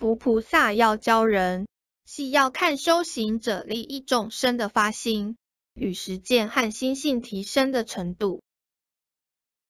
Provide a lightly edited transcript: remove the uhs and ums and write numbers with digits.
佛菩萨要教人，系要看修行者利益众生的发心与实践和心性提升的程度。